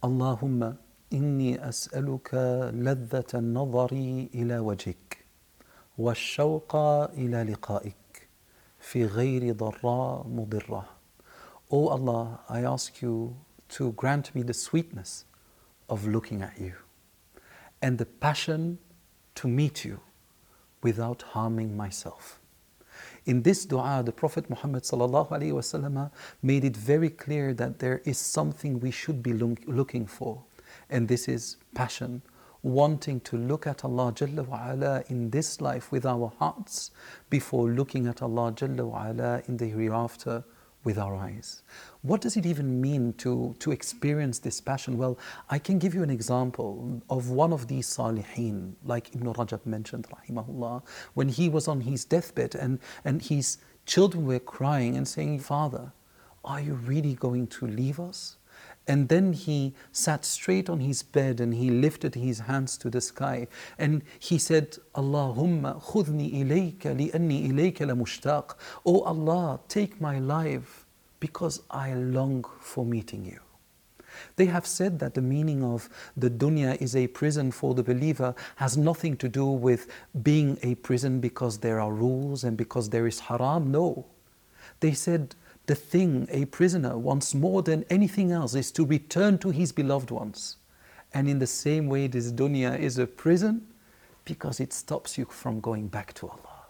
اللهم إني أسألك لذة النظر إلى وجهك والشوق إلى لقائك في غير ضراء مضرة. O Allah, I ask you to grant me the sweetness of looking at you and the passion to meet you without harming myself. In this dua, the Prophet Muhammad ﷺ made it very clear that there is something we should be looking for, and this is passion, wanting to look at Allah Jalla wa Ala in this life with our hearts before looking at Allah Jalla wa Ala in the hereafter with our eyes. What does it even mean to experience this passion? Well, I can give you an example of one of these salihin, like Ibn Rajab mentioned, rahimahullah, when he was on his deathbed and his children were crying and saying, Father, are you really going to leave us? And then he sat straight on his bed and he lifted his hands to the sky and he said, Allahumma khudni ilayka li'anni ilayka la mushtaq. Oh Allah, take my life because I long for meeting you. They have said that the meaning of the dunya is a prison for the believer has nothing to do with being a prison because there are rules and because there is haram. No. They said, the thing a prisoner wants more than anything else is to return to his beloved ones. And in the same way, this dunya is a prison because it stops you from going back to Allah.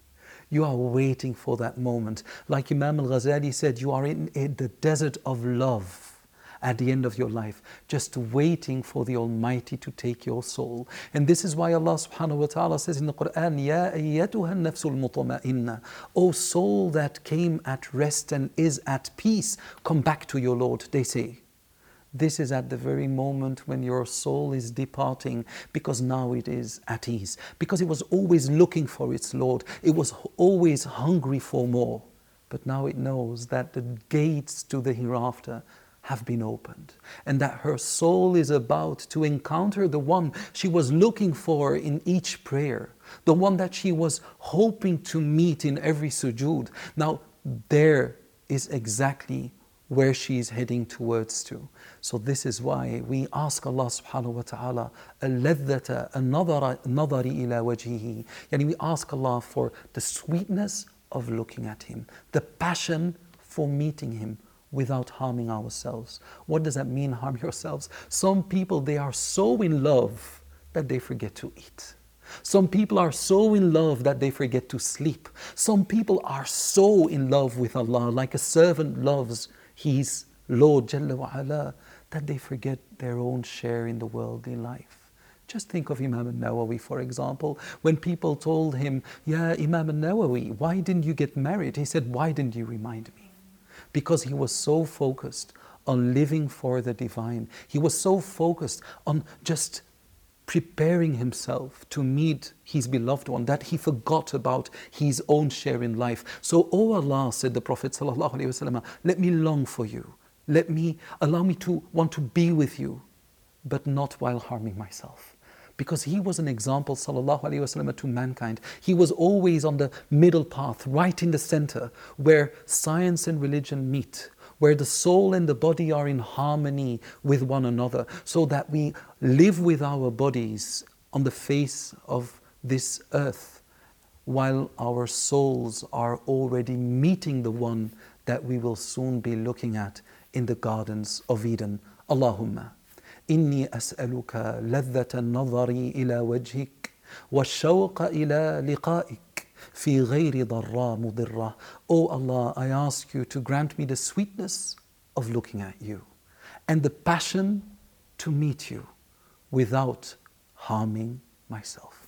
You are waiting for that moment. Like Imam al-Ghazali said, you are in the desert of love at the end of your life, just waiting for the Almighty to take your soul. And this is why Allah subhanahu wa ta'ala says in the Quran, Ya ayyatuha nafsul mutma'inna, O soul that came at rest and is at peace, come back to your Lord, they say. This is at the very moment when your soul is departing, because now it is at ease. Because it was always looking for its Lord. It was always hungry for more. But now it knows that the gates to the hereafter have been opened, and that her soul is about to encounter the one she was looking for in each prayer, the one that she was hoping to meet in every sujood. Now, there is exactly where she is heading towards to. So this is why we ask Allah subhanahu wa ta'ala al-ladhata an-nadari ila wajhihi. Yani we ask Allah for the sweetness of looking at Him, the passion for meeting Him without harming ourselves. What does that mean, harm yourselves? Some people, they are so in love that they forget to eat. Some people are so in love that they forget to sleep. Some people are so in love with Allah, like a servant loves his Lord Jalla wa Ala, that they forget their own share in the worldly life. Just think of Imam al-Nawawi, for example. When people told him, Ya Imam al-Nawawi, why didn't you get married? He said, why didn't you remind me? Because he was so focused on living for the divine. He was so focused on just preparing himself to meet his beloved one that he forgot about his own share in life. So, O Allah, said the Prophet ﷺ, let me long for you. Allow me to want to be with you, but not while harming myself. Because he was an example, sallallahu alaihi wasallam, to mankind. He was always on the middle path, right in the center, where science and religion meet, where the soul and the body are in harmony with one another, so that we live with our bodies on the face of this earth, while our souls are already meeting the one that we will soon be looking at in the gardens of Eden. Allahumma إني أسألك لذة النظر إلى وجهك والشوق إلى لقائك في غير ضراء مضرة. O Allah, I ask you to grant me the sweetness of looking at you and the passion to meet you without harming myself.